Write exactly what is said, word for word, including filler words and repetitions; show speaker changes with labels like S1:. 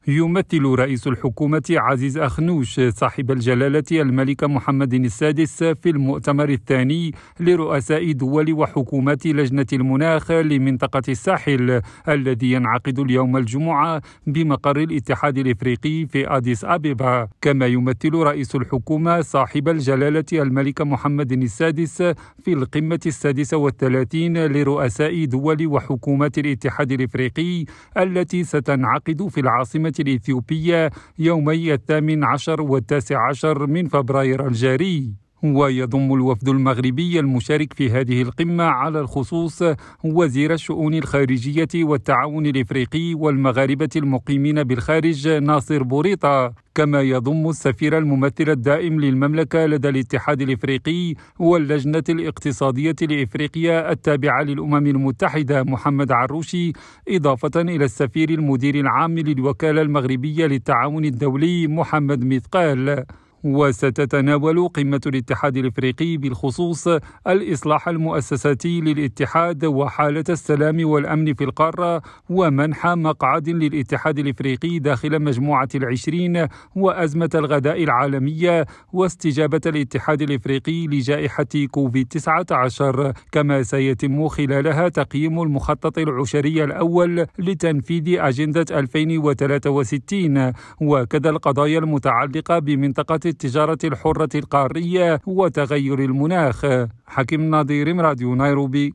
S1: يمثل رئيس الحكومة عزيز أخنوش صاحب الجلالة الملك محمد السادس في المؤتمر الثاني لرؤساء دول وحكومات لجنة المناخ لمنطقة الساحل الذي ينعقد اليوم الجمعة بمقر الاتحاد الإفريقي في أديس أبيبا. كما يمثل رئيس الحكومة صاحب الجلالة الملك محمد السادس في القمة السادسة والثلاثين لرؤساء دول وحكومات الاتحاد الإفريقي التي ستنعقد في العاصمة الإثيوبية يومي الثامن عشر والتاسع عشر من فبراير الجاري. ويضم الوفد المغربي المشارك في هذه القمة على الخصوص وزير الشؤون الخارجية والتعاون الإفريقي والمغاربة المقيمين بالخارج ناصر بوريطة، كما يضم السفير الممثل الدائم للمملكة لدى الاتحاد الإفريقي واللجنة الاقتصادية لإفريقيا التابعة للأمم المتحدة محمد عروشي، إضافة إلى السفير المدير العام للوكالة المغربية للتعاون الدولي محمد مثقال. وستتناول قمة الاتحاد الإفريقي بالخصوص الإصلاح المؤسساتي للاتحاد وحالة السلام والأمن في القارة ومنح مقعد للاتحاد الإفريقي داخل مجموعة العشرين وأزمة الغذاء العالمية واستجابة الاتحاد الإفريقي لجائحة كوفيد تسعة عشر. كما سيتم خلالها تقييم المخطط العشري الأول لتنفيذ أجندة ألفين وثلاثة وستين وكذا القضايا المتعلقة بمنطقة التجارة الحرة القارية وتغير المناخ. حكيم ناظر، راديو نيروبي.